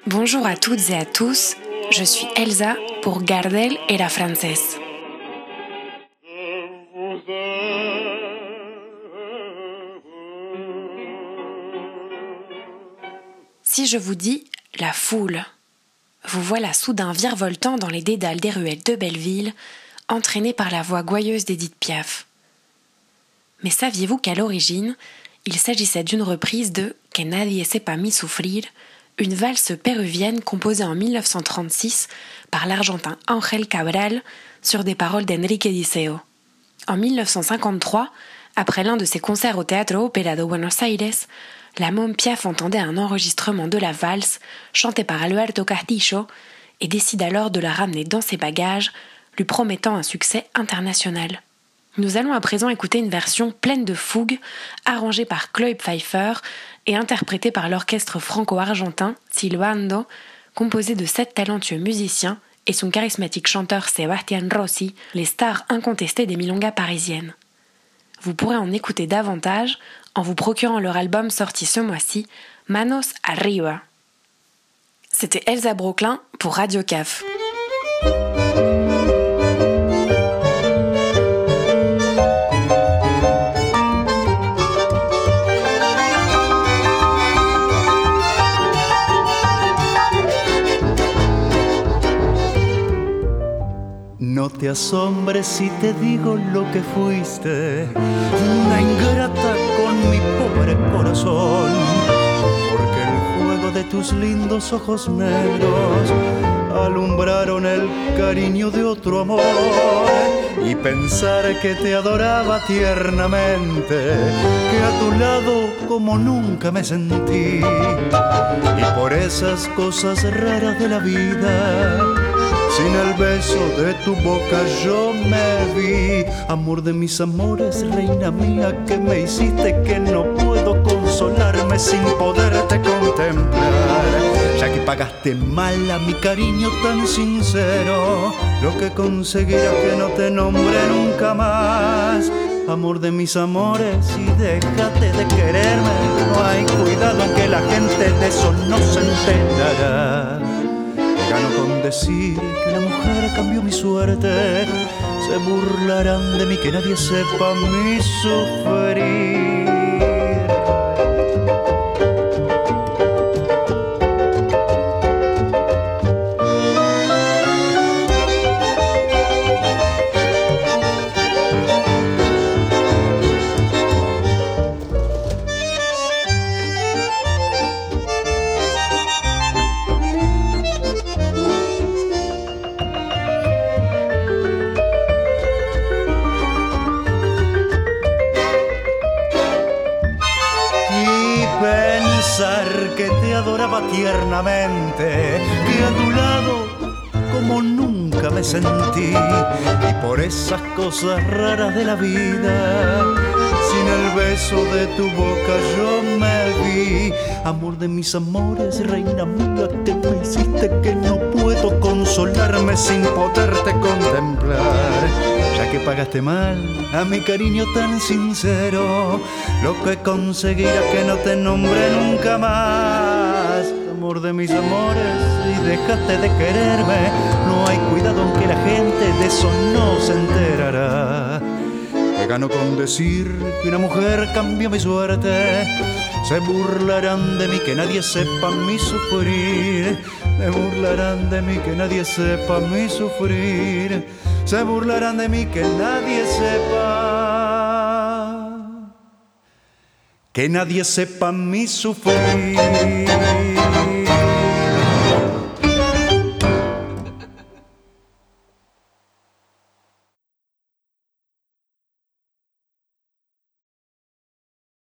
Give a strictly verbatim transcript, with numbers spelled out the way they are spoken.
Bonjour à toutes et à tous, je suis Elsa pour Gardel et la Française. Si je vous dis la foule, vous voilà soudain virevoltant dans les dédales des ruelles de Belleville, entraîné par la voix gouailleuse d'Édith Piaf. Mais saviez-vous qu'à l'origine, il s'agissait d'une reprise de « Que nadie sepa mi sufrir », une valse péruvienne composée en dix-neuf cent trente-six par l'Argentin Ángel Cabral sur des paroles d'Enrique Diceo. En dix-neuf cent cinquante-trois, après l'un de ses concerts au Teatro Ópera de Buenos Aires, la môme Piaf entendait un enregistrement de la valse chantée par Alberto Castillo et décide alors de la ramener dans ses bagages, lui promettant un succès international. Nous allons à présent écouter une version pleine de fougue, arrangée par Chloé Pfeiffer et interprétée par l'orchestre franco-argentin Silbando, composé de sept talentueux musiciens et son charismatique chanteur Sebastián Rossi, les stars incontestées des milongas parisiennes. Vous pourrez en écouter davantage en vous procurant leur album sorti ce mois-ci, Manos Arriba. C'était Elsa Brooklyn pour Radio C A F. No te asombres si te digo lo que fuiste, una ingrata con mi pobre corazón, porque el fuego de tus lindos ojos negros alumbraron el cariño de otro amor, y pensar que te adoraba tiernamente, que a tu lado como nunca me sentí, y por esas cosas raras de la vida, sin el beso de tu boca yo me vi. Amor de mis amores, reina mía, que me hiciste que no puedo consolarme sin poderte contemplar. Ya que pagaste mal a mi cariño tan sincero, lo que conseguirá que no te nombre nunca más. Amor de mis amores, y déjate de quererme. No hay cuidado en que la gente de eso no se enterará. Gano con decir que una mujer cambió mi suerte. Se burlarán de mí, que nadie sepa mi sufrir. Que te adoraba tiernamente, que a tu lado como nunca me sentí, y por esas cosas raras de la vida, sin el beso de tu boca yo me vi. Amor de mis amores, reina mía, que me hiciste que no puedo consolarme sin poderte contemplar. Ya que pagaste mal a mi cariño tan sincero, lo que conseguirá que no te nombre nunca más. Amor de mis amores, y déjate de quererme. No hay cuidado en que la gente de eso no se enterará. Que gano con decir que una mujer cambió mi suerte. Se burlarán de mí, que nadie sepa mi sufrir. Se burlarán de mí, que nadie sepa mi sufrir. Se burlarán de mí, que nadie sepa, que nadie sepa mi sufrir.